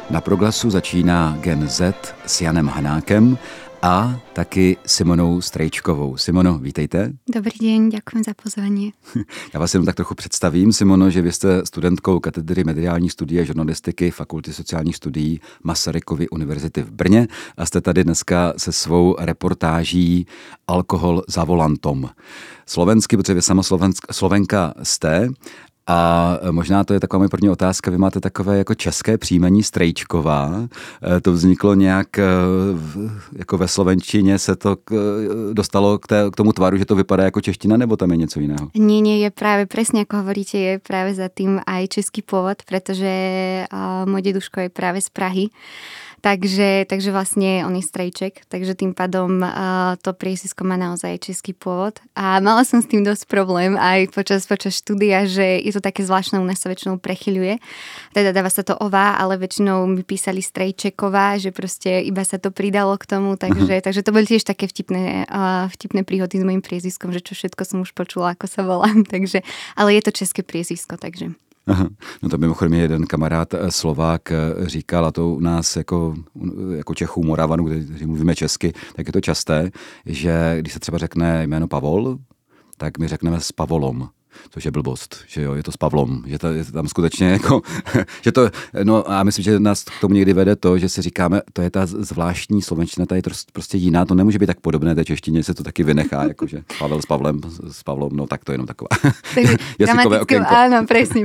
Na Proglasu začíná Gen Z s Janem Hanákem a taky Simonou Strejčkovou. Simono, vítejte. Dobrý deň, ďakujem za pozvanie. Já vás jenom tak trochu představím, Simono, že vy jste studentkou katedry mediální studie žurnalistiky Fakulty sociálních studií Masarykovy univerzity v Brně a jste tady dneska se svou reportáží Alkohol za volantom. Slovensky, protože vy sama Slovenka jste. A možná to je taková moje první otázka. Vy máte takové jako české příjmení Strejčková. To vzniklo nějak jako ve slovenštině se to dostalo k tomu tvaru, že to vypadá jako čeština, nebo tam je něco jiného? Nie, je práve presne ako hovoríte, je práve za tým aj český pôvod, pretože môj deduško je práve z Prahy. Takže vlastne on je Strejček, takže tým pádom to priezvisko má naozaj český pôvod. A mala som s tým dosť problém aj počas štúdia, že je to také zvláštne, u nás sa väčšinou prechyľuje. Teda dáva sa to ová, ale väčšinou mi písali Strejčeková, že proste iba sa to pridalo k tomu, takže to boli tiež také vtipné príhody s mojím priezviskom, že čo všetko som už počula, ako sa volám. Takže, ale je to české priezvisko, takže... Aha. No to mimochodem jeden kamarád Slovák říkal, a to u nás jako Čechů, Moravanů, kteří mluvíme česky, tak je to časté, že když se třeba řekne jméno Pavol, tak my řekneme s Pavolom, což je blbost, že jo, je to s Pavlom, že to je tam skutečně jako, že to, no a myslím, že nás k tomu někdy vede to, že si říkáme, to je ta zvláštní slovenština, ta je prostě jiná, to nemůže být tak podobné té češtině, se to taky vynechá, jakože Pavel s Pavlom, no tak to je jenom taková jazykové okénko. Áno, presne.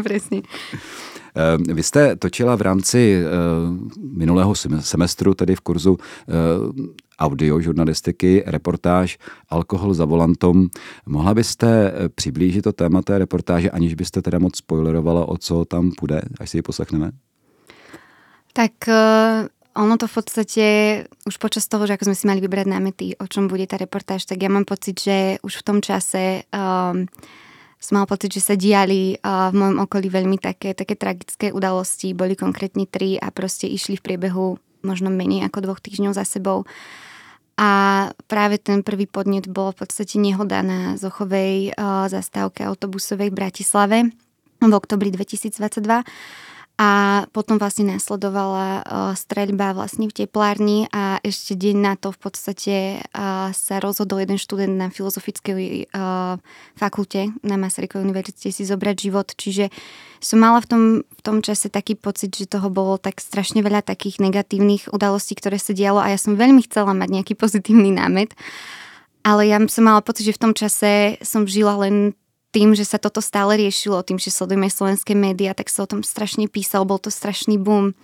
Vy jste točila v rámci minulého semestru, tedy v kurzu audiožurnalistiky, reportáž Alkohol za volantom. Mohla byste přiblížit to téma té reportáže, aniž byste teda moc spoilerovala, o co tam půjde, až si ji poslechneme? Tak ono to v podstate už počas toho, že ako sme si mali vybrať námety, o čom bude tá reportáž, tak ja mám pocit, že už v tom čase som mal pocit, že sa diali v mojom okolí veľmi také tragické udalosti. Boli konkrétne 3 a proste išli v priebehu možno menej ako 2 týždňov za sebou. A práve ten prvý podnet bol v podstate nehoda na Zochovej zastávke autobusovej v Bratislave v oktobri 2022. A potom vlastne nasledovala streľba vlastne v teplárni a ešte deň na to v podstate sa rozhodol jeden študent na filozofickej fakulte na Masarykovej univerzite si zobrať život. Čiže som mala v tom čase taký pocit, že toho bolo tak strašne veľa takých negatívnych udalostí, ktoré sa dialo a ja som veľmi chcela mať nejaký pozitívny námet. Ale ja som mala pocit, že v tom čase som žila len tým, že sa toto stále riešilo, tým, že sledujeme slovenské médiá, tak sa o tom strašne písal, bol to strašný boom.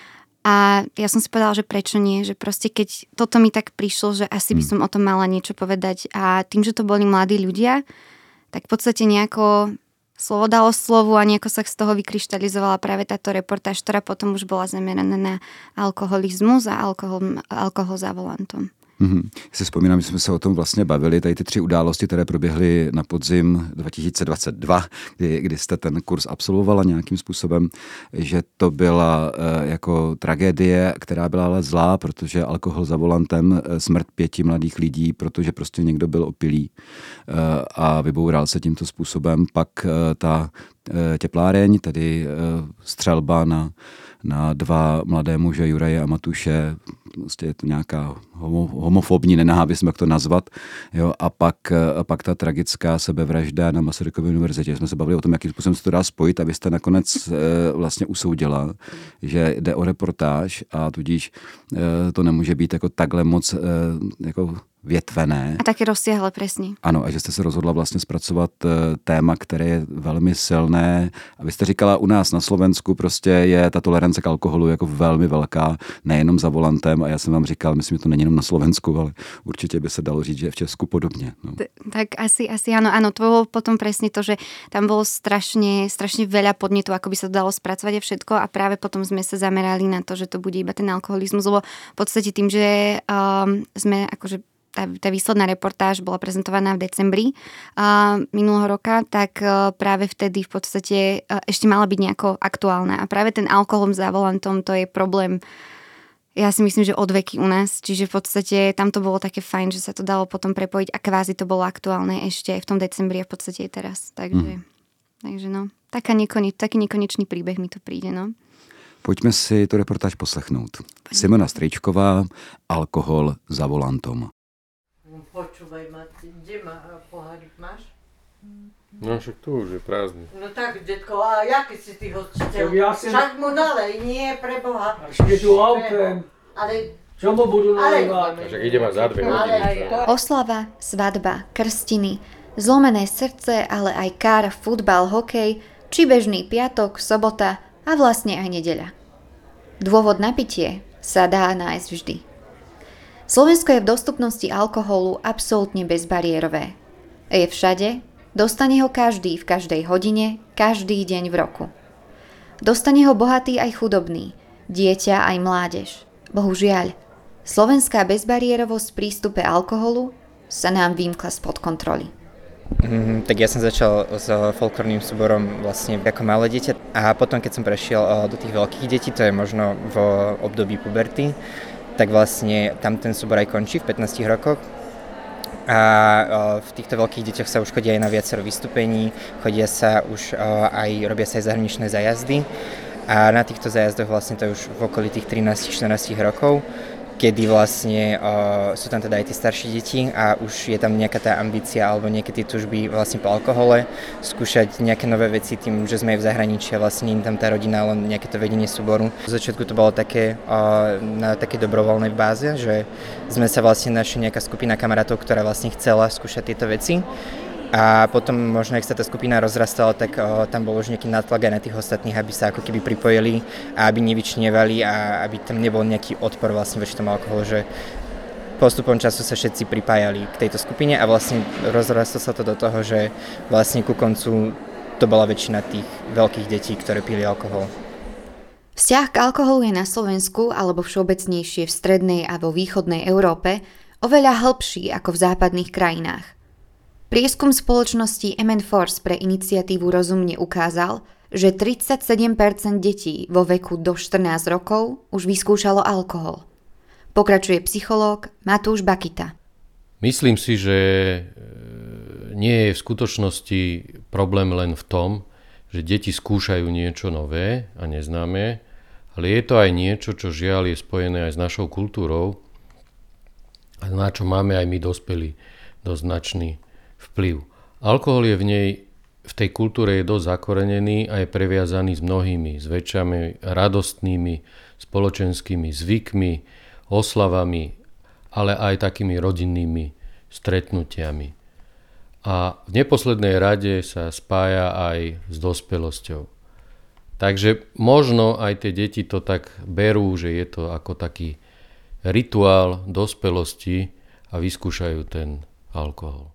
A ja som si povedala, že prečo nie, že proste keď toto mi tak prišlo, že asi by som o tom mala niečo povedať a tým, že to boli mladí ľudia, tak v podstate nejako slovo dalo slovu a nejako sa z toho vykryštalizovala práve táto reportáž, ktorá potom už bola zameraná na alkoholizmus a alkohol za volantom. Já si vzpomínám, že jsme se o tom vlastně bavili, tady ty 3 události, které proběhly na podzim 2022, kdy jste ten kurz absolvovala nějakým způsobem, že to byla jako tragédie, která byla ale zlá, protože alkohol za volantem, smrt 5 mladých lidí, protože prostě někdo byl opilý a vyboural se tímto způsobem. Pak ta tepláreň, tedy střelba na 2 mladé muže, Juraje a Matuše, prostě je to nějaká homofobní nenávist, jak to nazvat. Jo? A pak ta tragická sebevražda na Masarykově univerzitě. Jsme se bavili o tom, jakým způsobem se to dá spojit, abyste nakonec vlastně usoudila, že jde o reportáž a tudíž to nemůže být jako takhle moc jako větvené. A také rozsiahle, presne. Ano, a že jste se rozhodla vlastně zpracovat téma, které je velmi silné. A vy jste říkala, u nás na Slovensku prostě je ta tolerance k alkoholu jako velmi velká, nejenom za volantem. A já jsem vám říkal, myslím, že to není jenom na Slovensku, ale určitě by se dalo říct, že je v Česku podobně. No. Tak asi áno, to bolo potom presne to, že tam bolo strašne veľa podnetov, ako by sa to dalo spracovať a všetko a práve potom sme sa zamerali na to, že to bude iba ten alkoholizmus, lebo v podstate tým, že sme akože tá výsledná reportáž bola prezentovaná v decembri minulého roka, tak práve vtedy v podstate ešte mala byť nejako aktuálna. A práve ten alkohol za volantom, to je problém, ja si myslím, že od veky u nás. Čiže v podstate tam to bolo také fajn, že sa to dalo potom prepojiť a kvázi to bolo aktuálne ešte aj v tom decembri a v podstate aj teraz. Takže no, taký nekonečný príbeh mi to príde, no. Pojďme si tu reportáž poslechnout. Simona Strejčková, Alkohol za volantom. Počúvaj ma, kde pohárik máš? No však tu už je prázdny. No tak, detko, a jaký si ty hostiteľ? Ja som- Však mu nalej, nie, preboha. Je tu autem. Ale, Čo mu budú nalievať? Však ideme za 2 hodiny. Oslava, svadba, krstiny, zlomené srdce, ale aj kár, futbal, hokej, či bežný piatok, sobota a vlastne aj nedeľa. Dôvod na pitie sa dá nájsť vždy. Slovensko je v dostupnosti alkoholu absolútne bezbariérové. Je všade, dostane ho každý v každej hodine, každý deň v roku. Dostane ho bohatý aj chudobný, dieťa aj mládež. Bohužiaľ, slovenská bezbariérovosť v prístupe alkoholu sa nám vymkla spod kontroly. Tak ja som začal s folklórnym súborom vlastne ako malé dieťa a potom keď som prešiel do tých veľkých detí, to je možno v období puberty, tak vlastne tam ten súbor aj končí v 15 rokoch. A v týchto veľkých deťoch sa už chodia aj na viacero vystúpení, chodia sa už robia sa aj zahraničné zájazdy a na týchto zájazdoch vlastne to je už v okolí tých 13-14 rokov, kedy vlastne sú tam teda aj tie staršie deti a už je tam nejaká tá ambícia alebo nejaké tie túžby vlastne po alkohole, skúšať nejaké nové veci tým, že sme v zahraničí a vlastne nie je tam tá rodina, len nejaké to vedenie súboru. V začiatku to bolo také na také dobrovoľnej báze, že sme sa vlastne našli nejaká skupina kamarátov, ktorá vlastne chcela skúšať tieto veci. A potom možno, ak sa tá skupina rozrastala, tak tam bol už nejaký nátlak aj na tých ostatných, aby sa ako keby pripojili a aby nevyčnievali a aby tam nebol nejaký odpor vlastne voči tomu alkoholu, že postupom času sa všetci pripájali k tejto skupine a vlastne rozrastlo sa to do toho, že vlastne ku koncu to bola väčšina tých veľkých detí, ktoré pili alkohol. Vzťah k alkoholu je na Slovensku alebo všeobecnejšie v strednej a vo východnej Európe oveľa hlbší ako v západných krajinách. Prieskum spoločnosti MN Force pre iniciatívu Rozumne ukázal, že 37% detí vo veku do 14 rokov už vyskúšalo alkohol. Pokračuje psychológ Matúš Bakita. Myslím si, že nie je v skutočnosti problém len v tom, že deti skúšajú niečo nové a neznáme, ale je to aj niečo, čo žiaľ je spojené aj s našou kultúrou a na čo máme aj my dospelí dosť značný vplyv. Alkohol je v tej kultúre je dosť zakorenený a je previazaný s mnohými zväčšami radostnými spoločenskými zvykmi, oslavami, ale aj takými rodinnými stretnutiami. A v neposlednej rade sa spája aj s dospelosťou. Takže možno aj tie deti to tak berú, že je to ako taký rituál dospelosti a vyskúšajú ten alkohol.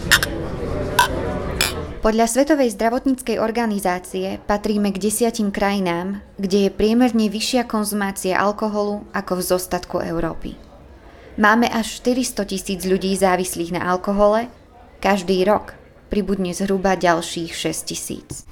Podľa Svetovej zdravotníckej organizácie patríme k 10 krajinám, kde je priemerne vyššia konzumácia alkoholu ako v zostatku Európy. Máme až 400 000 ľudí závislých na alkohole, každý rok pribudne zhruba ďalších 6 000.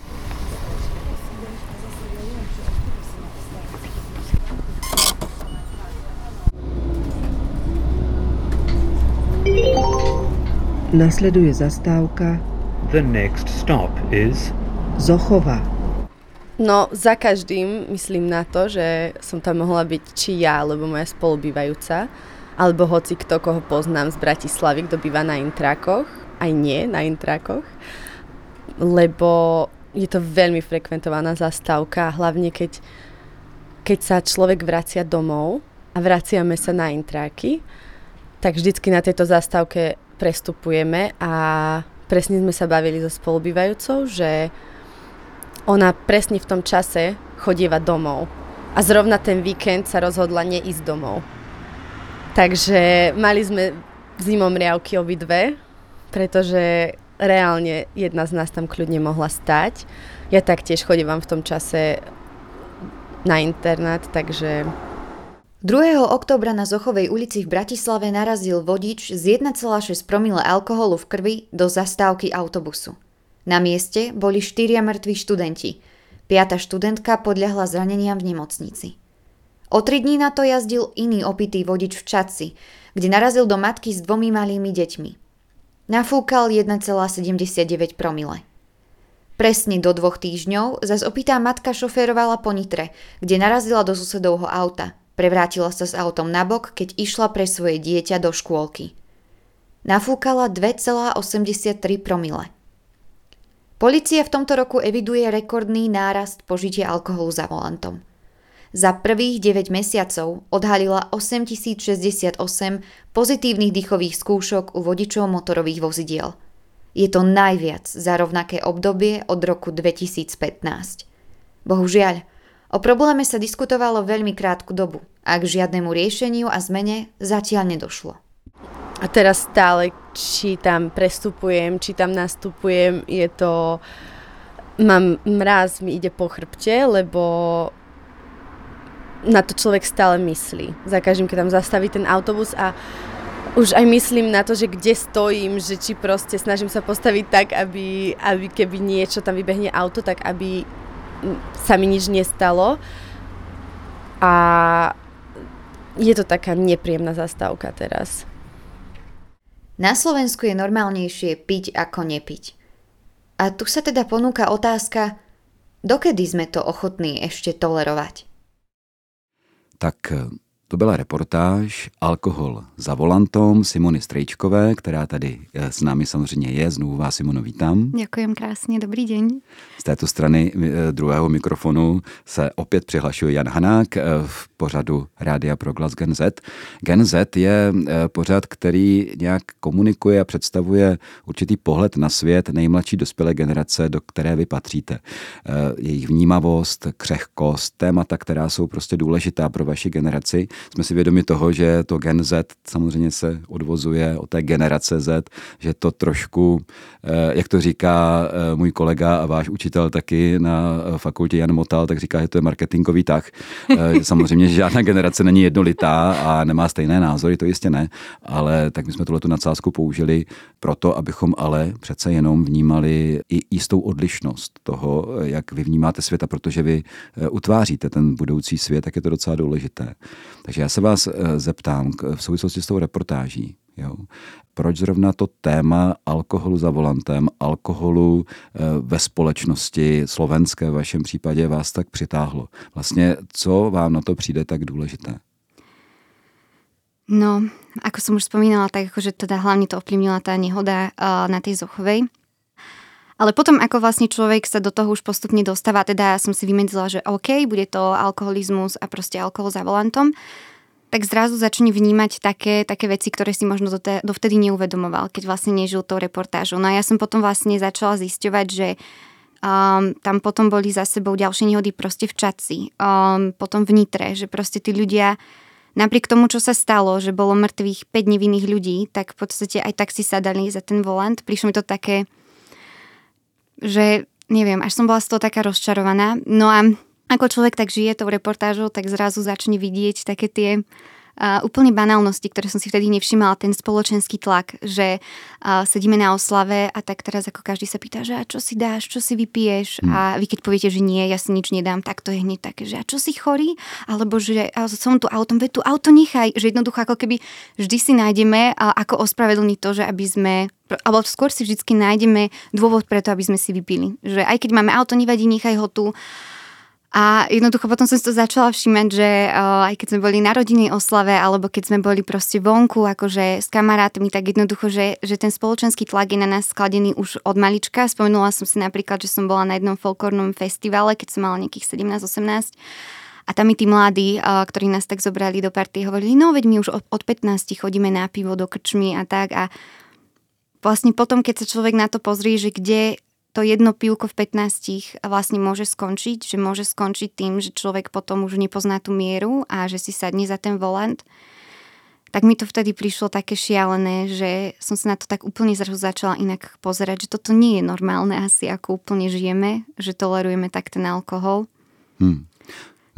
Nasleduje zastávka. The next stop is Zochova. No, za každým myslím na to, že som tam mohla byť či ja, alebo moja spolubývajúca, alebo hoci kto, koho poznám z Bratislavy, kto býva na Intrákoch, aj nie na Intrákoch, lebo je to veľmi frekventovaná zastávka, hlavne keď sa človek vracia domov a vraciame sa na Intráky, tak vždycky na tejto zastávke prestupujeme a presne sme sa bavili so spolubývajúcou, že ona presne v tom čase chodieva domov a zrovna ten víkend sa rozhodla neísť domov. Takže mali sme zimomriavky obidve, pretože reálne jedna z nás tam kľudne mohla stať. Ja taktiež chodievam v tom čase na internát, takže... 2. októbra na Zochovej ulici v Bratislave narazil vodič s 1,6 promile alkoholu v krvi do zastávky autobusu. Na mieste boli 4 mŕtvi študenti. 5. študentka podľahla zraneniam v nemocnici. O 3 dní na to jazdil iný opitý vodič v Čadci, kde narazil do matky s 2 malými deťmi. Nafúkal 1,79 promile. Presne do 2 týždňov zas opitá matka šoférovala po Nitre, kde narazila do susedovho auta. Prevrátila sa s autom nabok, keď išla pre svoje dieťa do škôlky. Nafúkala 2,83 promile. Polícia v tomto roku eviduje rekordný nárast požitia alkoholu za volantom. Za prvých 9 mesiacov odhalila 8068 pozitívnych dýchových skúšok u vodičov motorových vozidiel. Je to najviac za rovnaké obdobie od roku 2015. Bohužiaľ, o probléme sa diskutovalo veľmi krátku dobu a k žiadnemu riešeniu a zmene zatiaľ nedošlo. A teraz stále, či tam prestupujem, či tam nastupujem, je to... Mám mráz, mi ide po chrbte, lebo na to človek stále myslí. Za každým, keď tam zastaví ten autobus a už aj myslím na to, že kde stojím, že či proste snažím sa postaviť tak, aby keby niečo tam vybehne auto, tak aby sa mi nič nestalo. A je to taká nepríjemná zastávka teraz. Na Slovensku je normálnejšie piť ako nepiť. A tu sa teda ponúka otázka, dokedy sme to ochotní ešte tolerovať? Tak to byla reportáž Alkohol za volantom Simony Strejčkové, která tady s námi samozřejmě je. Znovu vás, Simono, vítám. Ďakujem krásne, dobrý deň. Z této strany druhého mikrofonu se opět přihlašuje Jan Hanák v pořadu Rádia Proglas Gen Z. Gen Z je pořad, který nějak komunikuje a představuje určitý pohled na svět nejmladší dospělé generace, do které vy patříte. Jejich vnímavost, křehkost, témata, která jsou prostě důležitá pro vaši generaci. Jsme si vědomi toho, že to Gen Z samozřejmě se odvozuje od té generace Z, že to trošku, jak to říká můj kolega a váš učitel taky na fakultě Jan Motal, tak říká, že to je marketingový tah. Samozřejmě, že žádná generace není jednolitá a nemá stejné názory, to jistě ne, ale tak my jsme tuhletu nadsázku použili proto, abychom ale přece jenom vnímali i jistou odlišnost toho, jak vy vnímáte svět, a protože vy utváříte ten budoucí svět, tak je to docela důležité. Takže já se vás zeptám v souvislosti s tou reportáží. Jo. Proč zrovna to téma alkoholu za volantem, alkoholu ve společnosti slovenské v vašem případě vás tak přitáhlo? Vlastně, co vám na to přijde tak důležité? No, ako som už spomínala, tak akože teda hlavne to ovplyvnila tá nehoda na tej Zochovej. Ale potom, ako vlastne človek sa do toho už postupne dostáva, teda som si vymedzila, že OK, bude to alkoholizmus a proste alkohol za volantom, tak zrazu začne vnímať také veci, ktoré si možno dovtedy neuvedomoval, keď vlastne nežil tou reportážou. No a ja som potom vlastne začala zisťovať, že tam potom boli za sebou ďalšie nehody proste v Čadci, potom v Nitre, že proste tí ľudia, napriek tomu, čo sa stalo, že bolo mŕtvych 5 nevinných ľudí, tak v podstate aj tak si sadali za ten volant. Prišlo mi to také, že neviem, až som bola z toho taká rozčarovaná. No a ako človek tak žije tou reportážou, tak zrazu začne vidieť také tie úplne banálnosti, ktoré som si vtedy nevšimala, ten spoločenský tlak, že sedíme na oslave a tak teraz ako každý sa pýta, že a čo si dáš, čo si vypiješ, a vy keď poviete, že nie, ja si nič nedám, tak to je hneď také, že a čo si chorý, alebo že som tu autom, veď tu auto nechaj, že jednoducho ako keby vždy si nájdeme ako ospravedlniť to, že aby sme, alebo skôr si vždycky nájdeme dôvod preto, aby sme si vypili, že aj keď máme auto, nevadí, nechaj ho tu. A jednoducho potom som si to začala všímať, že aj keď sme boli na rodinnej oslave, alebo keď sme boli proste vonku, akože s kamarátmi, tak jednoducho, že ten spoločenský tlak je na nás skladený už od malička. Spomenula som si napríklad, že som bola na jednom folklórnom festivale, keď som mala nejakých 17-18. A tam mi tí mladí, ktorí nás tak zobrali do party, hovorili, no veď my už od 15 chodíme na pivo do krčmy a tak. A vlastne potom, keď sa človek na to pozrie, že kde to jedno pivko v 15 vlastne môže skončiť, že môže skončiť tým, že človek potom už nepozná tú mieru a že si sadne za ten volant, tak mi to vtedy prišlo také šialené, že som sa na to tak úplne zrazu začala inak pozerať, že toto nie je normálne asi, ako úplne žijeme, že tolerujeme tak ten alkohol.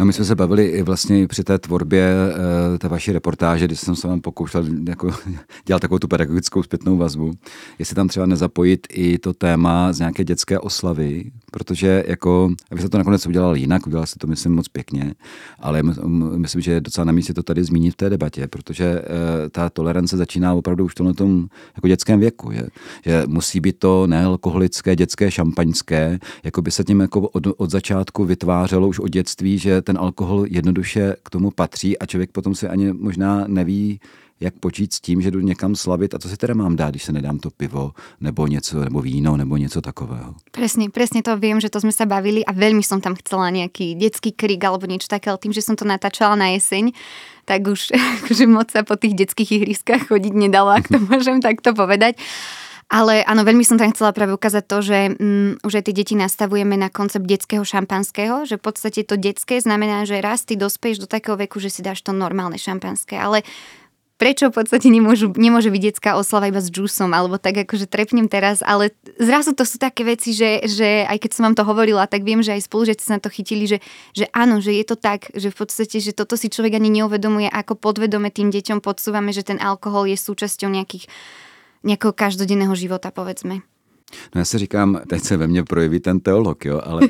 No my jsme se bavili i vlastně při té tvorbě té vaší reportáže, kdy jsem se vám pokoušel jako dělat takovou tu pedagogickou zpětnou vazbu, jestli tam třeba nezapojit i to téma z nějaké dětské oslavy, protože jako, vy jste to nakonec udělal jinak, udělal jste to myslím moc pěkně, ale myslím, že je docela na místě to tady zmínit v té debatě, protože ta tolerance začíná opravdu už v tom jako dětském věku, že musí být to nealkoholické dětské šampaňské, jako by se tím jako od začátku vytvářelo už od dětství, že ten alkohol jednoduše k tomu patří a člověk potom si ani možná neví, jak počít s tím, že jdu někam slavit a co si teda mám dát, když se nedám to pivo nebo něco, nebo víno, nebo něco takového. Presne to viem, že to sme sa bavili a veľmi som tam chcela nejaký detský krik alebo niečo také, ale tým, že som to natáčala na jeseň, tak už akože moc sa po tých detských ihriskách chodiť nedalo, ak to môžem takto povedať. Ale áno, veľmi som tam chcela práve ukázať to, že už aj tie deti nastavujeme na koncept detského šampanského, že v podstate to detské znamená, že raz ty dospeješ do takého veku, že si dáš to normálne šampanské, ale prečo v podstate nemôže byť detská oslava iba s džúsom, alebo tak akože trepnem teraz, ale zrazu to sú také veci, že aj keď som vám to hovorila, tak viem, že aj spolužiaci sa na to chytili, že áno, že je to tak, že v podstate, že toto si človek ani neuvedomuje, ako podvedome tým deťom podsúvame, že ten alkohol je súčasťou nejakého každodenného života, povedzme. No já si říkám, teď se ve mně projeví ten teolog, jo, ale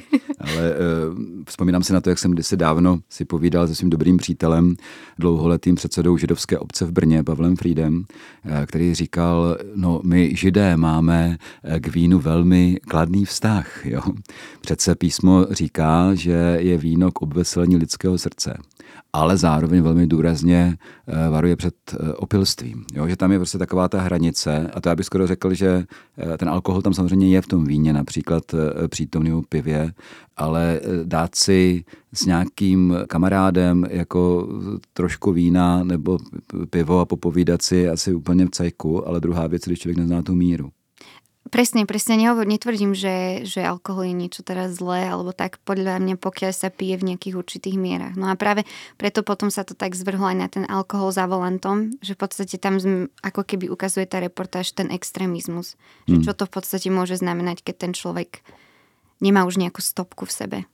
vzpomínám si na to, jak jsem kdysi dávno si povídal se svým dobrým přítelem, dlouholetým předsedou židovské obce v Brně, Pavlem Friedem, který říkal, no my Židé máme k vínu velmi kladný vztah, jo. Přece písmo říká, že je víno k obveselení lidského srdce, ale zároveň velmi důrazně varuje před opilstvím. Jo? Že tam je prostě taková ta hranice a to já bych skoro řekl, že ten alkohol tam samozřejmě je v tom víně, například přítomný u pivě, ale dát si s nějakým kamarádem jako trošku vína nebo pivo a popovídat si asi úplně v cajku, ale druhá věc, když člověk nezná tu míru. Presne, netvrdím, že alkohol je niečo teraz zlé, alebo tak podľa mňa, pokiaľ sa pije v nejakých určitých mierach. No a práve preto potom sa to tak zvrhlo aj na ten alkohol za volantom, že v podstate tam ako keby ukazuje tá reportáž ten extrémizmus. Že čo to v podstate môže znamenať, keď ten človek nemá už nejakú stopku v sebe.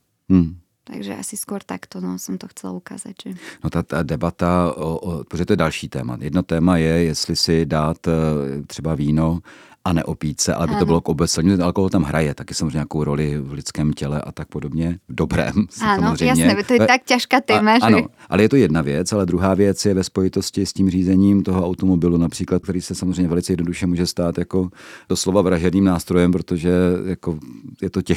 Takže asi skôr takto som to chcela ukázať. Že... No ta debata, protože to je další téma. Jedno téma je, jestli si dát třeba víno a neopít se, ale by to bylo k obeselení. Alkohol tam hraje taky samozřejmě nějakou roli v lidském těle a tak podobně. V dobrém, samozřejmě. Áno, jasné, to je tak ťažká téma, že... Ano, ale je to jedna věc, ale druhá věc je ve spojitosti s tím řízením toho automobilu například, který se samozřejmě velice jednoduše může stát jako doslova vražedným nástrojem, protože jako je to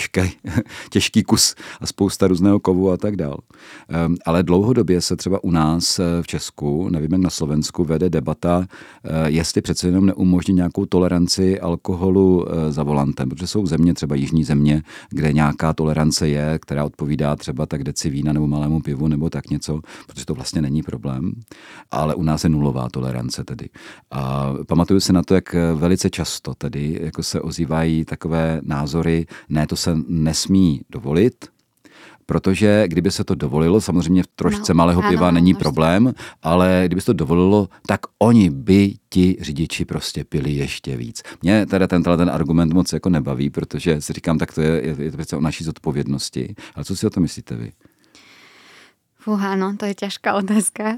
těžký kus a spousta různého kovu a tak dál. Ale dlouhodobě se třeba u nás v Česku, nevím jak na Slovensku, vede debata, jestli přece jenom neumožnit nějakou toleranci alkoholu za volantem, protože jsou země, třeba jižní země, kde nějaká tolerance je, která odpovídá třeba tak deci vína nebo malému pivu nebo tak něco, protože to vlastně není problém, ale u nás je nulová tolerance tedy. A pamatuju si na to, jak velice často tedy jako se ozývají takové názory, ne, to se nesmí dovolit, protože kdyby se to dovolilo, samozřejmě v trošce malého piva není problém, ale kdyby se to dovolilo, tak oni by ti řidiči prostě pili ještě víc. Mě teda ten argument moc jako nebaví, protože si říkám, tak to je to přece o naší zodpovědnosti. Ale co si o to myslíte vy? Áno, to je ťažká otázka.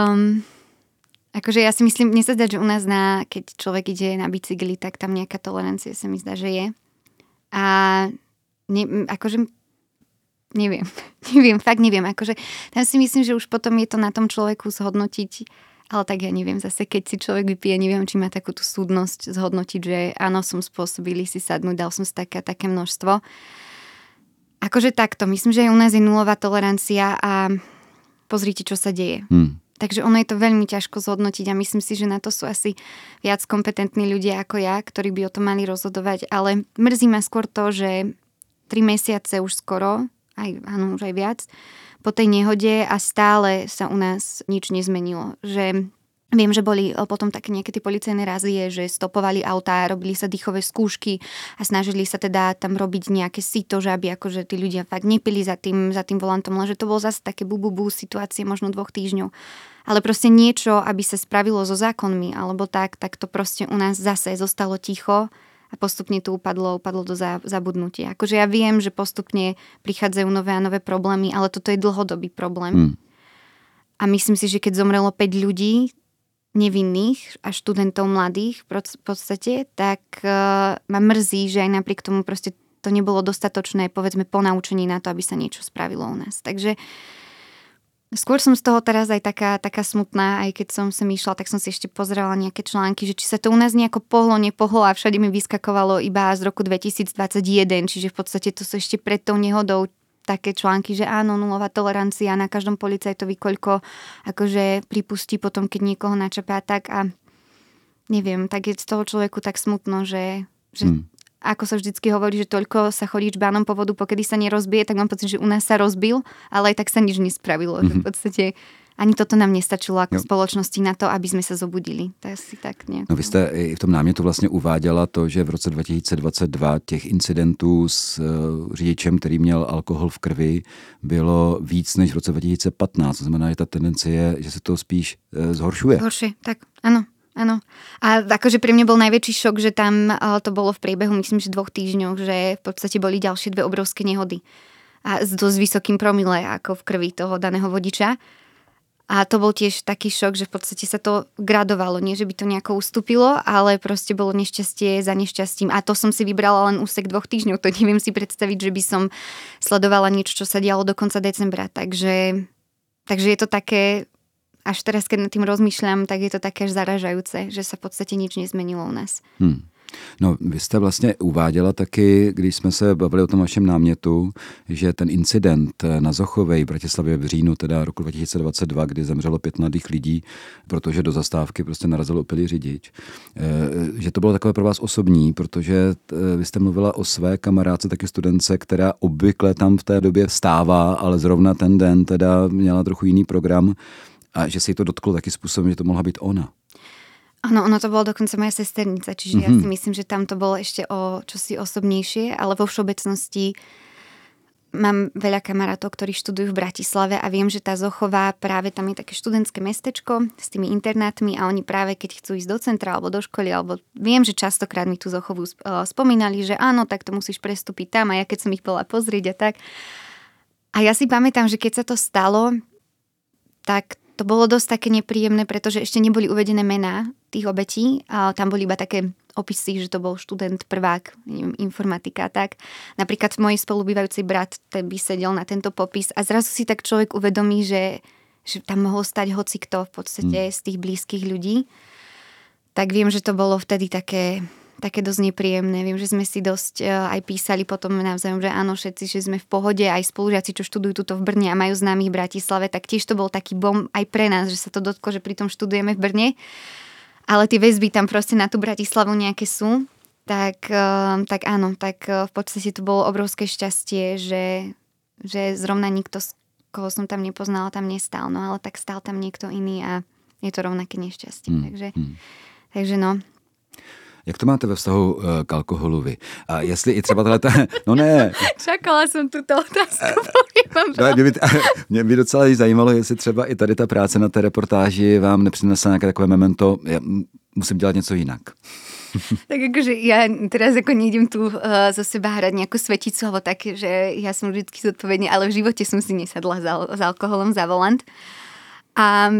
Akože ja si myslím, mne sa zdá, že u nás keď človek ide na bicykli, tak tam nejaká tolerancia sa mi zdá, že je. A neviem. Akože tam si myslím, že už potom je to na tom človeku zhodnotiť, ale tak ja neviem, zase keď si človek vypije, neviem, či má takú tú súdnosť zhodnotiť, že áno, som spôsobili si sadnúť, dal som si také množstvo. Akože takto, myslím, že aj u nás je nulová tolerancia a pozrite, čo sa deje. Takže ono je to veľmi ťažko zhodnotiť a myslím si, že na to sú asi viac kompetentní ľudia ako ja, ktorí by o tom mali rozhodovať, ale mrzí ma skôr to, že 3 mesiace už skoro, už aj viac, po tej nehode a stále sa u nás nič nezmenilo. Že viem, že boli potom také nejaké tie policajné razie, že stopovali autá, robili sa dýchové skúšky a snažili sa teda tam robiť nejaké sito, že aby akože tí ľudia fakt nepili za tým volantom, lenže to bolo zase také situácie možno 2 týždňov. Ale proste niečo, aby sa spravilo so zákonmi alebo tak to proste u nás zase zostalo ticho. A a postupne to upadlo do zabudnutia. Akože ja viem, že postupne prichádzajú nové a nové problémy, ale toto je dlhodobý problém. A myslím si, že keď zomrelo 5 ľudí nevinných a študentov mladých v podstate, tak ma mrzí, že aj napriek tomu proste to nebolo dostatočné, povedzme, ponaučenie na to, aby sa niečo spravilo u nás. Takže skôr som z toho teraz aj taká smutná, aj keď som sem išla, tak som si ešte pozerala nejaké články, že či sa to u nás nejako nepohlo a všade mi vyskakovalo iba z roku 2021, čiže v podstate to sú ešte pred tou nehodou také články, že áno, nulová tolerancia, na každom policajtovi koľko akože pripustí potom, keď niekoho načapá tak a neviem, tak je z toho človeku tak smutno, že ako sa vždycky hovorí, že toľko sa chodí čbánom po vodu, pokedy sa nerozbije, tak mám pocit, že u nás sa rozbil, ale aj tak sa nič nespravilo. Že v podstate ani toto nám nestačilo ako spoločnosti na to, aby sme sa zobudili. To je asi tak nejako. No vy jste i v tom námětu vlastně uváděla to, že v roce 2022 těch incidentů s řidičem, který měl alkohol v krvi, bylo víc než v roce 2015. To znamená, že ta tendence je, že se to spíš zhoršuje. Zhoršuje, tak áno. Áno. A akože pre mňa bol najväčší šok, že tam to bolo v priebehu, myslím, že 2 týždňov, že v podstate boli ďalšie 2 obrovské nehody. A s dosť vysokým promile ako v krvi toho daného vodiča. A to bol tiež taký šok, že v podstate sa to gradovalo. Nie, že by to nejako ustúpilo, ale proste bolo nešťastie za nešťastím. A to som si vybrala len úsek 2 týždňov. To neviem si predstaviť, že by som sledovala niečo, čo sa dialo do konca decembra. Takže je to také... Až teraz, keď nad tým rozmýšľam, tak je to také až zaražajúce, že sa v podstate nič nezmenilo u nás. No, vy jste vlastně uváděla taky, když jsme se bavili o tom vašem námětu, že ten incident na Zochovej v Bratislavě v říjnu teda roku 2022, kdy zemřelo 5 mladých lidí, protože do zastávky prostě narazil opilý řidič, že to bylo takové pro vás osobní, protože vy jste mluvila o své kamarádce, taky studence, která obvykle tam v té době stává, ale zrovna ten den teda měla trochu jiný program a že se jí to dotklo taky způsobem, že to mohla být ona. Ono to bolo dokonca moja sesternica, čiže ja si myslím, že tam to bolo ešte o čosi osobnejšie, ale vo všeobecnosti mám veľa kamarátov, ktorí študujú v Bratislave a viem, že tá Zochová, práve tam je také študentské mestečko s tými internátmi a oni práve keď chcú ísť do centra alebo do školy, alebo viem, že častokrát mi tú Zochovú spomínali, že áno, tak to musíš prestúpiť tam a ja keď som ich bola pozrieť a tak. A ja si pamätám, že keď sa to stalo, tak to bolo dosť také nepríjemné, pretože ešte neboli uvedené mená tých obetí. A tam boli iba také opisy, že to bol študent, prvák, neviem, informatika a tak. Napríklad môj spolubývajúci brat, ten by sedel na tento popis a zrazu si tak človek uvedomí, že tam mohol stať hocikto v podstate z tých blízkych ľudí. Tak viem, že to bolo vtedy také dosť nepríjemné. Viem, že sme si dosť aj písali potom navzájom, že áno, všetci, že sme v pohode, aj spolužiaci, čo študujú tuto v Brne a majú známych v Bratislave, tak tiež to bol taký bom aj pre nás, že sa to dotklo, že pritom študujeme v Brne. Ale tie väzby tam proste na tú Bratislavu nejaké sú. Tak áno, tak v podstate to bolo obrovské šťastie, že zrovna nikto, koho som tam nepoznala, tam nestál. No ale tak stál tam niekto iný a je to rovnaké nešťastie. Takže no. Jak to máte ve vztahu k alkoholu vy? A jestli i třeba tohle... No ne. Čakala jsem tuto otázku. Mě by docela zajímalo, jestli třeba i tady ta práce na té reportáži vám nepřinesla nějaké takové memento, ja musím dělat něco jinak. Tak akože ja teraz ako nejdem tu zo seba hrať nejakú sveticu alebo tak, že ja som vždycky zodpovedný, ale v živote som si nesadla s alkoholom za volant. A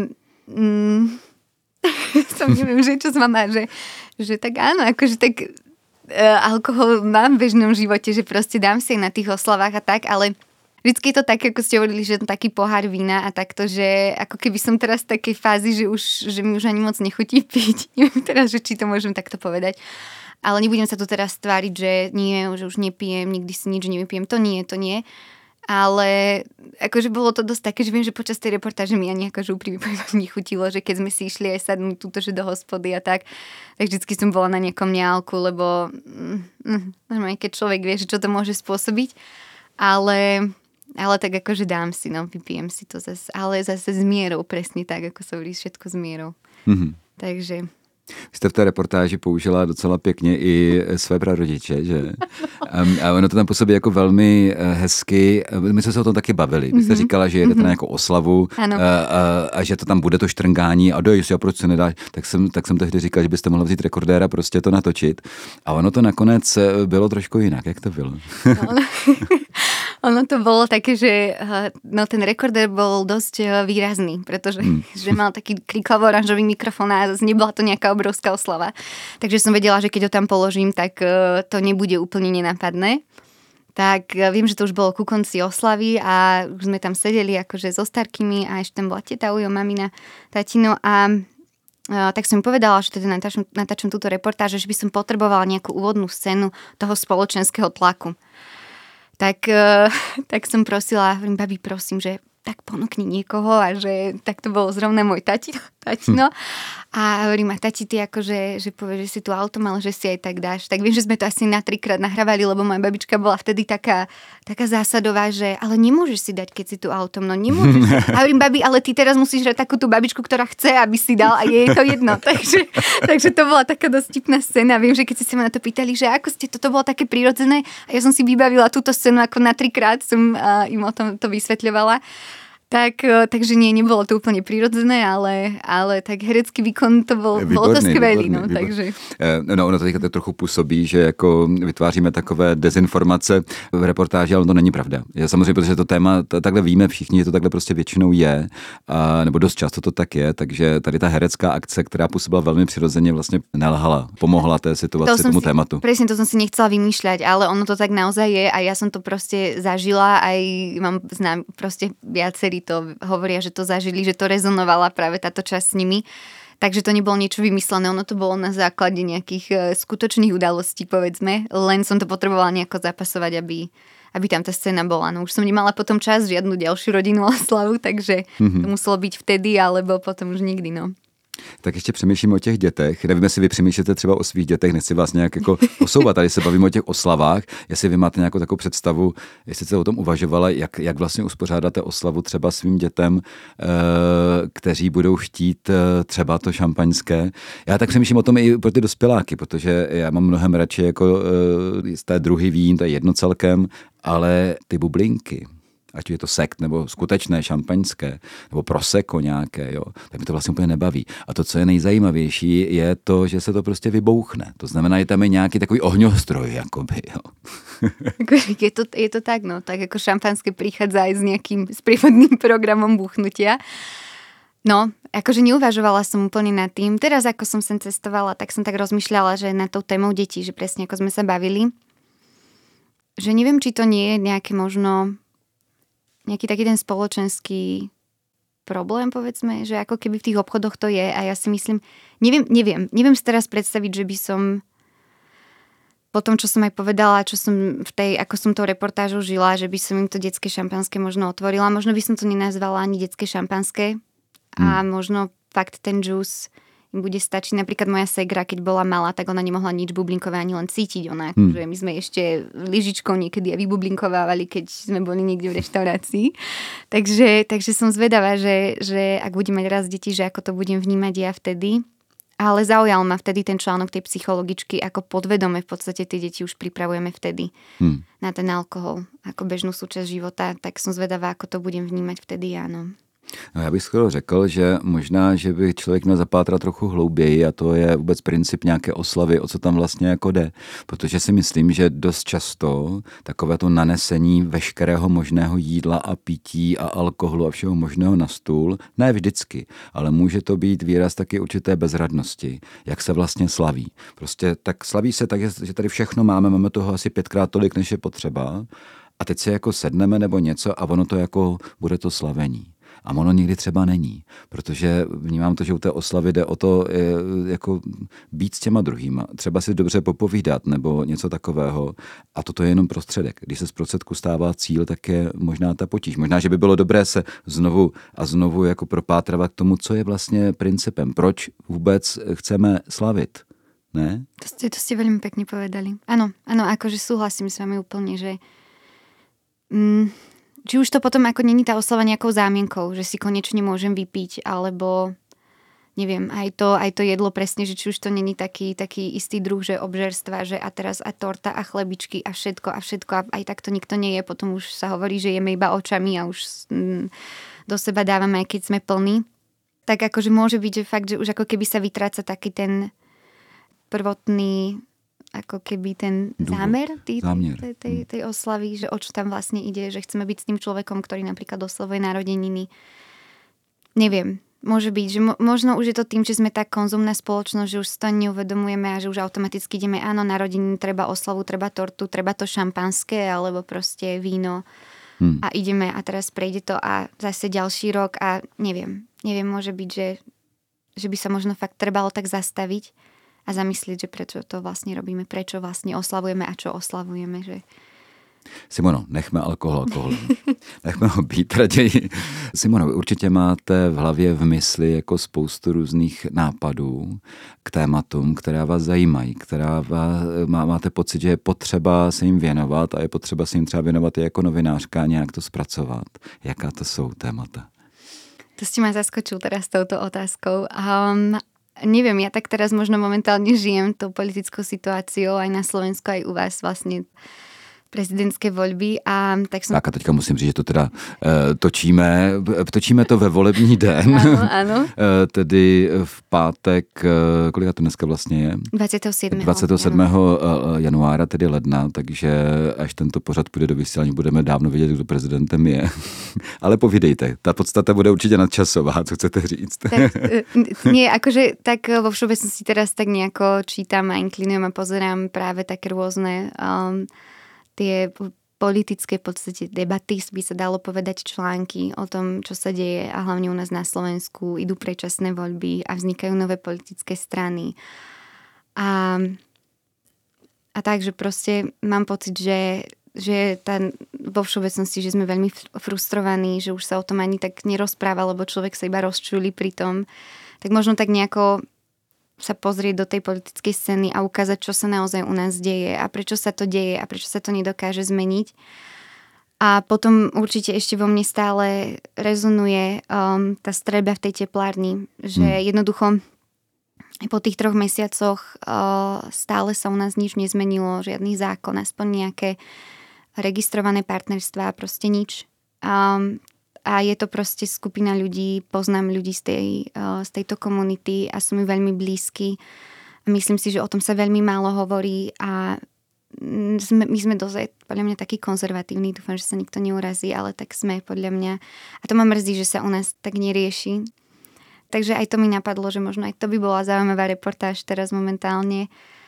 som neviem, že čo s vama, že tak áno, akože tak alkohol mám v bežnom živote, že proste dám si na tých oslavách a tak, ale vždycky je to tak, ako ste hovorili, že taký pohár vína a takto, že ako keby som teraz v takej fázi, že mi už ani moc nechutí piť. Neviem teraz, že či to môžem takto povedať. Ale nebudem sa tu teraz tváriť, že nie, že už nepijem, nikdy si nič nevypijem. To nie. Ale akože bolo to dosť také, že viem, že počas tej reportáže mi ani akože úprimne nechutilo, že keď sme si išli aj sadnúť túto, že do hospody a tak vždycky som bola na nejakom neálku, lebo keď človek vie, že čo to môže spôsobiť, ale tak akože dám si, no, vypijem si to zase, ale zase s mierou, presne tak, ako sa hovorí, všetko s mierou. Takže Vy jste v té reportáži použila docela pěkně i své prarodiče, že? A ono to tam působí jako velmi hezky. My jsme se o tom taky bavili. Vy jste říkala, že jedete na nějakou oslavu a že to tam bude to štrngání a dojď, a proč se nedáš? Tak jsem tehdy říkal, že byste mohla vzít rekordéra, prostě to natočit. A ono to nakonec bylo trošku jinak. Jak to bylo? Ono to bolo také, že ten rekordér bol dosť výrazný, pretože že mal taký kriklavo-oranžový mikrofón a nebola to nejaká obrovská oslava. Takže som vedela, že keď ho tam položím, tak to nebude úplne nenápadné. Tak viem, že to už bolo ku konci oslavy a už sme tam sedeli akože so starkými a ešte tam bola teta Ujo, mamina, tatino a tak som im povedala, že teda natáčam túto reportáž, že by som potrebovala nejakú úvodnú scénu toho spoločenského tlaku. Tak som prosila, hovorím, babi, prosím, že tak ponúkni niekoho a že tak to bolo zrovna môj tatino. A hovorím, a tati, ty akože, že povie, že si tu auto mal, že si aj tak dáš. Tak viem, že sme to asi na 3-krát nahrávali, lebo moja babička bola vtedy taká zásadová, že ale nemôžeš si dať, keď si tu autom, no nemôžeš. A hovorím, babi, ale ty teraz musíš hrať takú tú babičku, ktorá chce, aby si dal a je to jedno. Takže to bola taká dosť vtipná scéna. Viem, že keď ste sa ma na to pýtali, že ako ste, toto bolo také prirodzené a ja som si vybavila túto scénu ako na 3-krát som im o tom to vysvetľovala. Takže nebolo to úplne prirodzené, ale tak herecký výkon to bolo to skvělý. Takže. No, ono to teďka trochu působí, že jako vytváříme takové dezinformace v reportáži, ale to není pravda. Já samozřejmě, protože to téma takhle víme všichni, že to takhle prostě většinou je, nebo dost často to tak je, takže tady ta herecká akce, která působila velmi přirozeně, vlastně nelhala, pomohla té situaci, tomu tématu. Presne, to som si nechcela vymýšľať, ale ono to tak naozaj je a ja som to proste zažila, aj znám proste viacerí to hovoria, že to zažili, že to rezonovala práve táto časť s nimi. Takže to nebolo niečo vymyslené, ono to bolo na základe nejakých skutočných udalostí, povedzme. Len som to potrebovala nejako zapasovať, aby tam tá scéna bola. No už som nemala potom čas žiadnu ďalšiu rodinnú oslavu, takže to muselo byť vtedy, alebo potom už nikdy, no. Tak ještě přemýšlím o těch dětech. Nevím, jestli vy přemýšlíte třeba o svých dětech, nechci vás nějak jako osouvat. Tady se bavíme o těch oslavách. Jestli vy máte nějakou takovou představu, jestli jste o tom uvažovala, jak vlastně uspořádáte oslavu třeba svým dětem, kteří budou chtít třeba to šampaňské. Já tak přemýšlím o tom i pro ty dospěláky, protože já mám mnohem radši jako z té druhy vín, to je jedno celkem, ale ty bublinky, ať je to sekt nebo skutečné šampaňské, nebo prosecco nějaké, jo, tak mi to vlastně úplně nebaví. A to, co je nejzajímavější, je to, že se to prostě vybouchne. To znamená, že tam je nějaký takový ohňostroj, jakoby, jo. Je to tak, no, tak jako šampanské prichádza aj s nejakým sprievodným programom buchnutia. No, akože neuvažovala som úplne nad tým. Teraz, ako som sem cestovala, tak som tak rozmýšľala, že nad tou témou detí, že presne ako sme sa bavili, že neviem, či to nie je nejaké možno nejaký taký ten spoločenský problém, povedzme, že ako keby v tých obchodoch to je a ja si myslím, neviem si teraz predstaviť, že by som po tom, čo som aj povedala, čo som ako som tou reportážou žila, že by som im to detské šampanské možno otvorila. Možno by som to nenazvala ani detské šampanské a možno fakt ten džús im bude stačiť. Napríklad moja segra, keď bola malá, tak ona nemohla nič bublinkové ani len cítiť. Ona, že my sme ešte lyžičkou niekedy aj vybublinkovávali, keď sme boli niekde v reštaurácii. Takže som zvedavá, že ak budem mať raz deti, že ako to budem vnímať ja vtedy. Ale zaujal ma vtedy ten článok tej psychologičky, ako podvedome v podstate tie deti už pripravujeme vtedy na ten alkohol ako bežnú súčasť života. Tak som zvedavá, ako to budem vnímať vtedy, áno. No, já bych skoro řekl, že možná, že by člověk měl zapátrat trochu hlouběji a to je vůbec princip nějaké oslavy, o co tam vlastně jako jde. Protože si myslím, že dost často takové to nanesení veškerého možného jídla a pití a alkoholu a všeho možného na stůl, ne vždycky, ale může to být výraz taky určité bezradnosti, jak se vlastně slaví. Prostě tak slaví se tak, že tady všechno máme toho asi 5krát tolik, než je potřeba a teď se jako sedneme nebo něco a ono to jako bude to slavení. A ono nikdy třeba není, protože vnímám to, že u té oslavy jde o to jako být s těma druhýma, třeba si dobře popovídat nebo něco takového a toto je jenom prostředek. Když se z prostředku stává cíl, tak je možná ta potíž. Možná, že by bylo dobré se znovu a znovu jako propátrovat k tomu, co je vlastně principem, proč vůbec chceme slavit. Ne? To ste veľmi pekne povedali. Áno, akože súhlasím s vami úplne, že či už to potom ako není tá oslava nejakou zámienkou, že si konečne môžem vypiť, alebo neviem, aj to jedlo presne, že či už to není taký istý druh, že obžerstva, že a teraz a torta a chlebičky a všetko a aj tak to nikto nie je, potom už sa hovorí, že jeme iba očami a už do seba dávame, aj keď sme plní. Tak akože môže byť, že fakt, že už ako keby sa vytráca taký ten prvotný, ako keby ten zámer tej oslavy, že o čo tam vlastne ide, že chceme byť s tým človekom, ktorý napríklad oslavuje narodeniny. Neviem, môže byť, že možno už je to tým, že sme tak konzumná spoločnosť, že už si to neuvedomujeme a že už automaticky ideme, áno, narodeniny, treba oslavu, treba tortu, treba to šampanské alebo proste víno a ideme a teraz prejde to a zase ďalší rok a neviem, môže byť, že by sa možno fakt trebalo tak zastaviť a zamyslieť, že prečo to vlastne robíme, prečo vlastne oslavujeme a čo oslavujeme. Že... Simono, nechme alkohol. Nechme ho být raději. Simono, vy určitě máte v hlavě v mysli jako spoustu různých nápadů k tématům, která vás zajímají, máte pocit, že je potřeba se jim věnovat a je potřeba se jim třeba věnovat i jako novinářka a nějak to zpracovat. Jaká to jsou témata? To ste ma zaskočil teraz touto otázkou. Neviem, ja tak teraz možno momentálne žijem tou politickou situáciou aj na Slovensku, aj u vás vlastne prezidentské voľby a tak som... Tak a teďka musím říct, že to teda točíme to ve volební den. Áno. Tedy v pátek, kolika to dneska vlastně je? 27. januára, tedy ledna, takže až tento pořad půjde do vysílání, budeme dávno vědět, kdo prezidentem je. Ale povídejte, ta podstata bude určitě nadčasová, co chcete říct? Tak, nie, akože tak vo všeobecnosti teraz tak nejako čítam a inklinujem a pozerám práve také rôzne tie politické v podstate debaty, by sa dalo povedať, články o tom, čo sa deje a hlavne u nás na Slovensku idú predčasné voľby a vznikajú nové politické strany. A takže proste mám pocit, že vo všeobecnosti, že sme veľmi frustrovaní, že už sa o tom ani tak nerozpráva, lebo človek sa iba rozčúli pri tom. Tak možno tak nejako sa pozrieť do tej politickej scény a ukázať, čo sa naozaj u nás deje a prečo sa to deje a prečo sa to nedokáže zmeniť. A potom určite ešte vo mne stále rezonuje tá streľba v tej teplárni, že jednoducho po tých 3 mesiacoch stále sa u nás nič nezmenilo, žiadny zákon, aspoň nejaké registrované partnerstvá, proste nič. A je to proste skupina ľudí, poznám ľudí z tejto komunity a sú mi veľmi blízky. Myslím si, že o tom sa veľmi málo hovorí a my sme dosť, podľa mňa, takí konzervatívni. Dúfam, že sa nikto neurazí, ale tak sme, podľa mňa. A to ma mrzí, že sa u nás tak nerieši. Takže aj to mi napadlo, že možno aj to by bola zaujímavá reportáž teraz momentálne.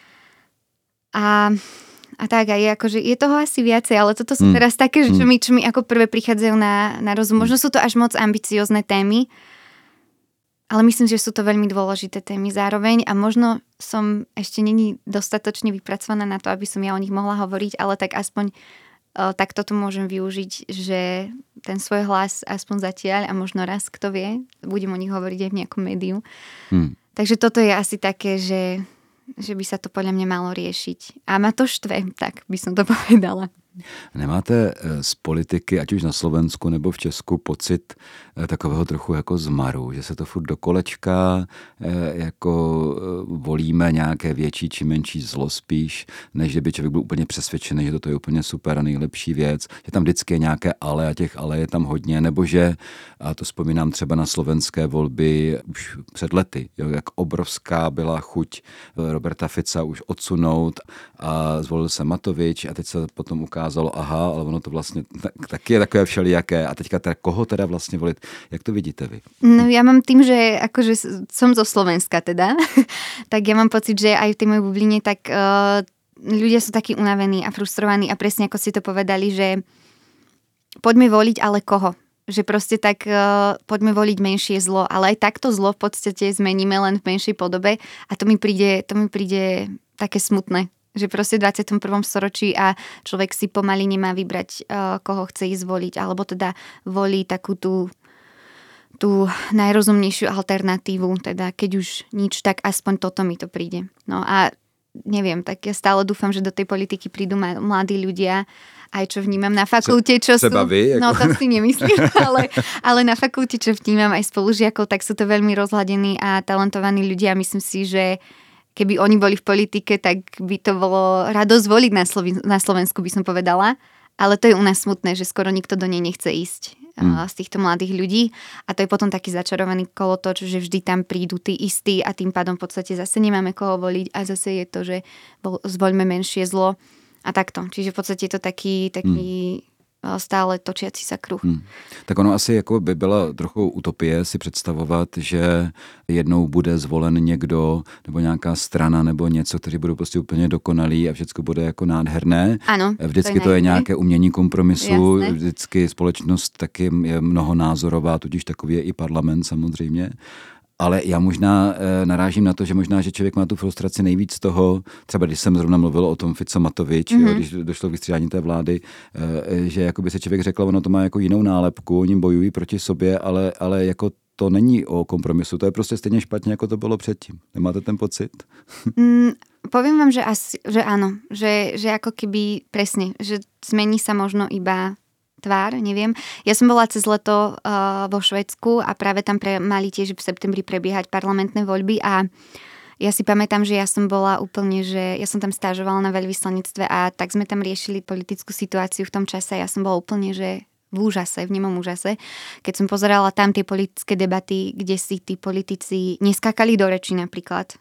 A tak aj akože je toho asi viacej, ale toto sú teraz také, čo mi ako prvé prichádzajú na rozum. Možno sú to až moc ambiciozne témy, ale myslím, že sú to veľmi dôležité témy zároveň a možno som ešte není dostatočne vypracovaná na to, aby som ja o nich mohla hovoriť, ale tak aspoň takto to môžem využiť, že ten svoj hlas aspoň zatiaľ a možno raz, kto vie, budem o nich hovoriť aj v nejakom médiu. Takže toto je asi také, že by sa to podľa mňa malo riešiť. A ma to štve, tak by som to povedala. Nemáte z politiky, ať už na Slovensku nebo v Česku, pocit takového trochu jako zmaru, že se to furt do kolečka jako volíme nějaké větší či menší zlo spíš, než že by člověk byl úplně přesvědčený, že toto je úplně super a nejlepší věc, že tam vždycky je nějaké ale a těch ale je tam hodně, nebo že, a to vzpomínám třeba na slovenské volby už před lety, jo, jak obrovská byla chuť Roberta Fica už odsunout a zvolil se Matovič a teď se potom ukázalo, aha, ale ono to vlastně taky je takové všelijaké a teďka teda koho teda vlastně volit, jak to vidíte vy? No ja mám tým, že akože som zo Slovenska teda, tak ja mám pocit, že aj v tej mojej bubline tak ľudia sú takí unavení a frustrovaní a presne ako si to povedali, že poďme voliť, ale koho? Že proste tak poďme voliť menšie zlo, ale aj takto zlo v podstate zmeníme len v menšej podobe a to mi príde také smutné, že proste v 21. storočí a človek si pomaly nemá vybrať, koho chce ísť voliť, alebo teda volí takú tú najrozumnejšiu alternatívu, teda keď už nič, tak aspoň toto mi to príde. No a neviem, tak ja stále dúfam, že do tej politiky prídu mladí ľudia, aj čo vnímam na fakulte, čo sú... Vy, no to si nemyslím, ale na fakulte, čo vnímam aj spolužiakov, tak sú to veľmi rozhľadení a talentovaní ľudia. Myslím si, že keby oni boli v politike, tak by to bolo radosť voliť na Slovensku, by som povedala. Ale to je u nás smutné, že skoro nikto do nej nechce ísť z týchto mladých ľudí. A to je potom taký začarovaný kolotoč, že vždy tam prídu tí istí a tým pádom v podstate zase nemáme koho voliť a zase je to, že zvoľme menšie zlo a takto. Čiže v podstate je to taký stále točiaci sa kruh. Tak ono asi jako by byla trochu utopie si představovat, že jednou bude zvolen někdo nebo nějaká strana nebo něco, kteří budou prostě úplně dokonalí a všechno bude jako nádherné. Ano, vždycky to je nějaké umění kompromisu, jasné. vždycky společnost taky je mnohonázorová, tudíž takový je i parlament samozřejmě. Ale já možná narážím na to, že možná, že člověk má tu frustraci nejvíc z toho, třeba když jsem zrovna mluvil o tom Fico Matovič, jo, když došlo k vystřídání té vlády, že jakoby se člověk řekl, ono to má jako jinou nálepku, oni bojují proti sobě, ale jako to není o kompromisu, to je prostě stejně špatně, jako to bylo předtím. Nemáte ten pocit? Poviem vám, že áno, že ako keby presne, že zmení sa možno iba tvár, neviem. Ja som bola cez leto vo Švédsku a práve tam mali tiež v septembri prebiehať parlamentné voľby a ja si pamätám, že ja som bola úplne, že ja som tam stážovala na veľvyslanectve a tak sme tam riešili politickú situáciu v tom čase a ja som bola úplne, že v úžase, v nemom úžase, keď som pozerala tam tie politické debaty, kde si tí politici neskákali do reči napríklad.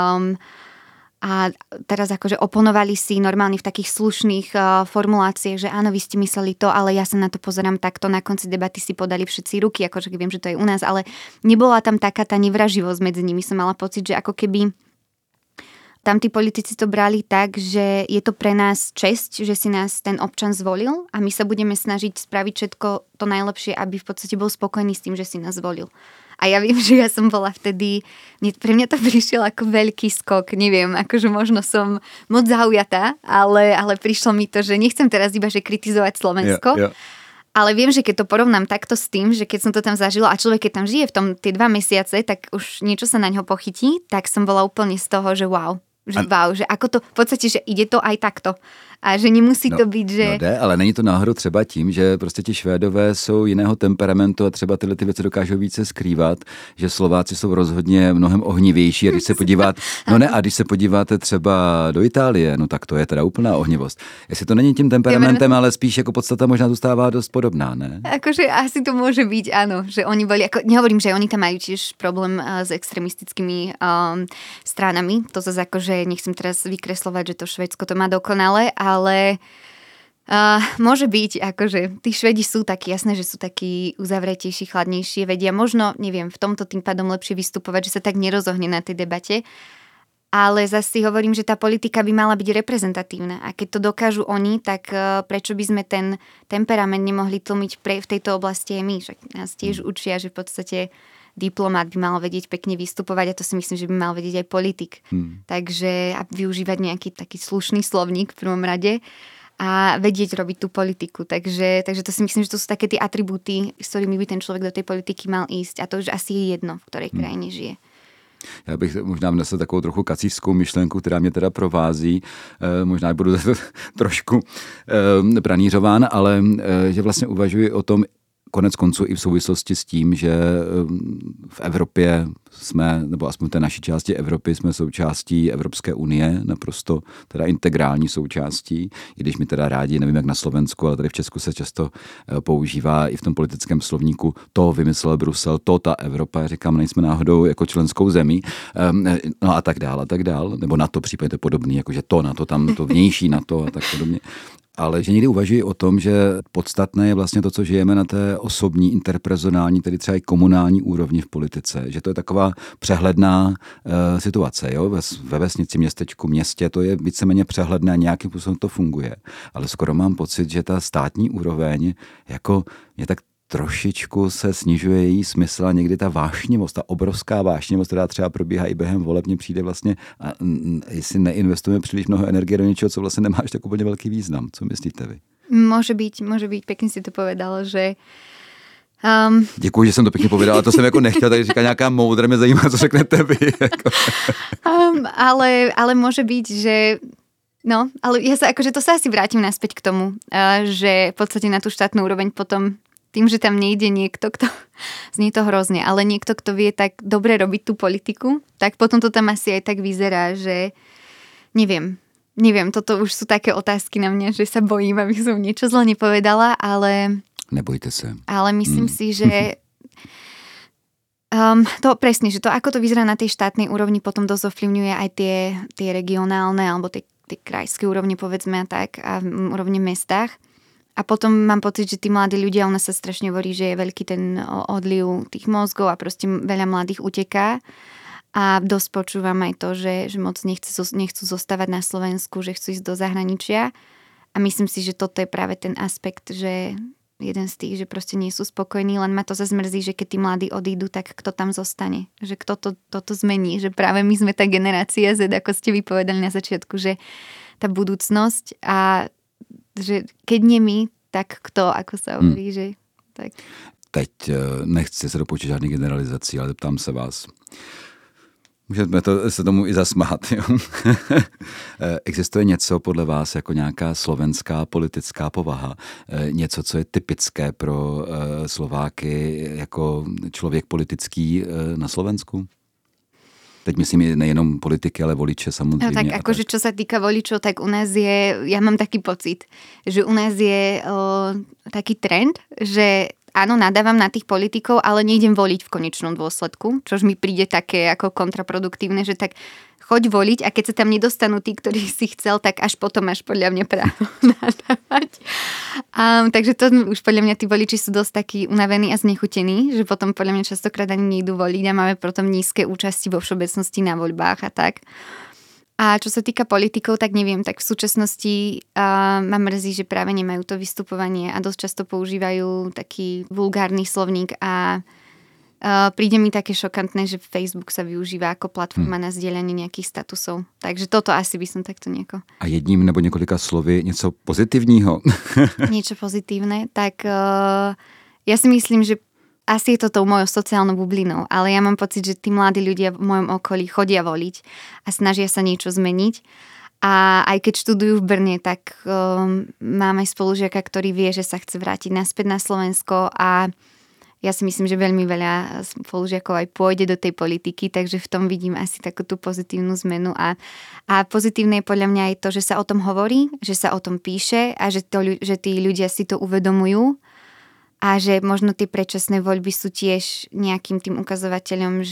A teraz akože oponovali si normálne v takých slušných formuláciách, že áno, vy ste mysleli to, ale ja sa na to pozerám takto. Na konci debaty si podali všetci ruky, akože viem, že to je u nás, ale nebola tam taká tá nevraživosť medzi nimi. Som mala pocit, že ako keby tam tí politici to brali tak, že je to pre nás česť, že si nás ten občan zvolil a my sa budeme snažiť spraviť všetko to najlepšie, aby v podstate bol spokojný s tým, že si nás zvolil. A ja viem, že ja som bola vtedy, pre mňa to prišiel ako veľký skok, neviem, akože možno som moc zaujatá, ale prišlo mi to, že nechcem teraz iba že kritizovať Slovensko, ale viem, že keď to porovnám takto s tým, že keď som to tam zažila a človek keď tam žije v tom tie 2 mesiace, tak už niečo sa na ňo pochytí, tak som bola úplne z toho, že wow. Že ako to, v podstate, že ide to aj takto. A že nemusí to být, že... No jde, ale není to náhodou třeba tím, že prostě ti Švédové jsou jiného temperamentu a třeba tyhle ty věci dokážou více skrývat, že Slováci jsou rozhodně mnohem ohnivější a když se když se podíváte třeba do Itálie, no tak to je teda úplná ohnivost. Jestli to není tím temperamentem, ale spíš jako podstata možná zůstává dost podobná, ne? Akože asi to môže byť, áno, že oni boli, ako, nehovorím, že oni tam majú tiež problém s extremistickými stranami, to zase akože nechcem teraz vykreslovať, že to Švédsko to má dokonale, ale môže byť, akože tí Švedi sú takí, jasné, že sú takí uzavretejší, chladnejší, vedia možno, neviem, v tomto tým pádom lepšie vystupovať, že sa tak nerozohne na tej debate, ale zase si hovorím, že tá politika by mala byť reprezentatívna a keď to dokážu oni, tak prečo by sme ten temperament nemohli tlmiť v tejto oblasti aj my, však nás tiež učia, že v podstate diplomát by mal vedieť pekne vystupovať a to si myslím, že by mal vedieť aj politik. Takže a využívať nejaký taký slušný slovník v prvom rade a vedieť robiť tú politiku. Takže to si myslím, že to sú také tie atribúty, s ktorými by ten človek do tej politiky mal ísť a to už asi je jedno, v ktorej krajine žije. Já bych možná vnesl takovou trochu kacířskou myšlenku, která mě teda provází. Možná budu trošku pranířován, ale že vlastně uvažuji o tom, konec konců i v souvislosti s tím, že v Evropě jsme, nebo aspoň v té naší části Evropy, jsme součástí Evropské unie, naprosto teda integrální součástí, i když mi teda rádi, nevím jak na Slovensku, ale tady v Česku se často používá i v tom politickém slovníku to vymyslel Brusel, to ta Evropa, já říkám, nejsme náhodou jako členskou zemí, no a tak dál, nebo na to případně podobný, jakože to na to, tam to vnější na to a tak podobně. Ale že někdy uvažuji o tom, že podstatné je vlastně to, co žijeme na té osobní, interpersonální, tedy třeba i komunální úrovni v politice. Že to je taková přehledná situace. Jo? Ve vesnici, městečku, městě to je víceméně přehledné a nějakým způsobem to funguje. Ale skoro mám pocit, že ta státní úroveň jako je tak trošičku se snižuje její smysl a někdy ta vášnivost, ta obrovská vášnivost, která třeba probíhá i během voleb, mně přijde vlastně, jestli neinvestujeme příliš mnoho energie do něčeho, co vlastně nemá až tak úplně velký význam. Co myslíte vy? Môže byť, pekne si to povedal, že Děkuji, že jsem to pěkně povedala, ale to jsem jako nechtěl, takže říká nějaká moudra, mě zajímá, co řeknete vy. Jako. Ale môže byť, že no, ale ja sa akože to sa asi vrátim naspäť k tomu, že v podstate na tú štátnu úroveň potom tým, že tam nejde niekto, kto znie to hrozne, ale niekto, kto vie tak dobre robiť tú politiku, tak potom to tam asi aj tak vyzerá, že neviem, toto už sú také otázky na mňa, že sa bojím, aby som niečo zle nepovedala, ale nebojte sa. Ale myslím si, že to presne, že to ako to vyzerá na tej štátnej úrovni potom dosť ovplyvňuje aj tie regionálne alebo tie krajské úrovne povedzme tak a úrovne mestách. A potom mám pocit, že tí mladí ľudia, u nás sa strašne hovorí, že je veľký ten odliv tých mozgov a proste veľa mladých uteká. A dosť počúvam aj to, že moc nechcú zostávať na Slovensku, že chcú ísť do zahraničia. A myslím si, že toto je práve ten aspekt, že jeden z tých, že proste nie sú spokojní, len ma to zase mrzí, že keď tí mladí odídu, tak kto tam zostane? Že kto toto zmení? Že práve my sme tá generácia Z, ako ste vypovedali na začiatku, že tá budúcnosť a že keď nie my, tak kto, ako sa hovorí, že tak. Teď nechci se dopouštět žádný generalizací, ale ptám se vás. Můžeme se tomu i zasmát. Jo? Existuje něco podle vás jako nějaká slovenská politická povaha? Něco, co je typické pro Slováky jako člověk politický na Slovensku? Teď myslím nejenom politiky, ale voliče samozřejmě. No tak akože čo sa týka voličov, tak u nás je, ja mám taký pocit, že u nás je taký trend, že áno, nadávam na tých politikov, ale nejdem voliť v konečnom dôsledku, čož mi príde také ako kontraproduktívne, že tak choď voliť a keď sa tam nedostanú tí, ktorí si chcel, tak až potom máš podľa mňa právo nadávať. Takže to už podľa mňa tí voliči sú dosť takí unavení a znechutení, že potom podľa mňa častokrát ani nejdú voliť a máme potom nízke účasti vo všeobecnosti na voľbách a tak. A čo sa týka politikov, tak neviem, tak v súčasnosti ma mrzí, že práve nemajú to vystupovanie a dosť často používajú taký vulgárny slovník a príde mi také šokantné, že Facebook sa využíva ako platforma na sdieľanie nejakých statusov. Takže toto asi by som takto nejako... A jedním nebo několika slovy něco pozitivního? Niečo pozitívne, tak ja si myslím, že asi je to tou mojou sociálnou bublinou, ale ja mám pocit, že tí mladí ľudia v mojom okolí chodia voliť a snažia sa niečo zmeniť. A aj keď študujú v Brne, tak mám aj spolužiaka, ktorý vie, že sa chce vrátiť naspäť na Slovensko a ja si myslím, že veľmi veľa spolužiakov aj pôjde do tej politiky, takže v tom vidím asi takú tú pozitívnu zmenu a pozitívne je podľa mňa aj to, že sa o tom hovorí, že sa o tom píše a že tí ľudia si to uvedomujú a že možno tie predčasné voľby sú tiež nejakým tým ukazovateľom,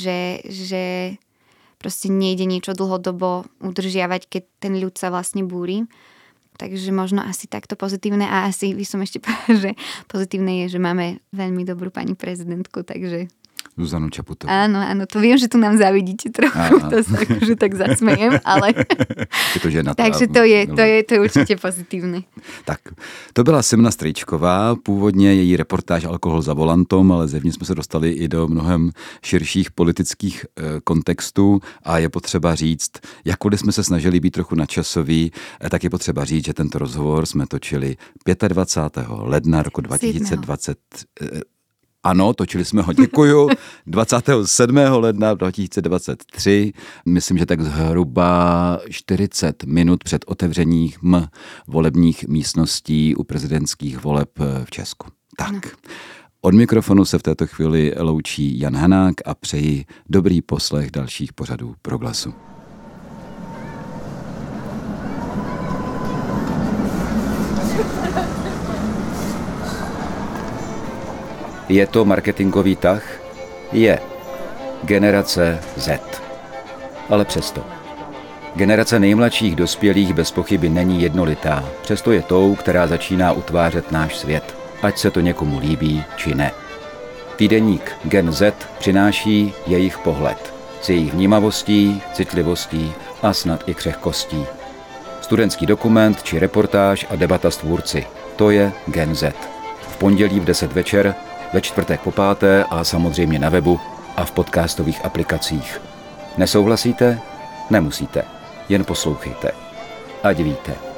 že proste nejde niečo dlhodobo udržiavať, keď ten ľud sa vlastne búri. Takže možno asi takto pozitívne a asi by som ešte povedala, že pozitívne je, že máme veľmi dobrú pani prezidentku, takže... Zuzanu Čaputovú. Áno, to viem, že tu nám zavidíte trochu, to sa akože tak zasmejem, ale... Je to žena. Takže to je určitě pozitívne. Tak, to byla Simona Strýčková, původně její reportáž Alkohol za volantom, ale zevnitř jsme se dostali i do mnohem širších politických kontextů a je potřeba říct, jakkoliv jsme se snažili být trochu nadčasoví, tak je potřeba říct, že tento rozhovor jsme točili 25. ledna roku 2020. Ano, točili jsme ho, děkuju, 27. ledna 2023, myslím, že tak zhruba 40 minut před otevřením volebních místností u prezidentských voleb v Česku. Tak, od mikrofonu se v této chvíli loučí Jan Hanák a přeji dobrý poslech dalších pořadů Proglasu. Je to marketingový tah? Je. Generace Z. Ale přesto. Generace nejmladších dospělých bez pochyby není jednolitá, přesto je tou, která začíná utvářet náš svět, ať se to někomu líbí, či ne. Týdeník Gen Z přináší jejich pohled, s jejich vnímavostí, citlivostí a snad i křehkostí. Studentský dokument či reportáž a debata s tvůrci, to je Gen Z. V pondělí v 10 večer, ve čtvrtek po 5. a samozřejmě na webu a v podcastových aplikacích. Nesouhlasíte? Nemusíte. Jen poslouchejte. Ať víte.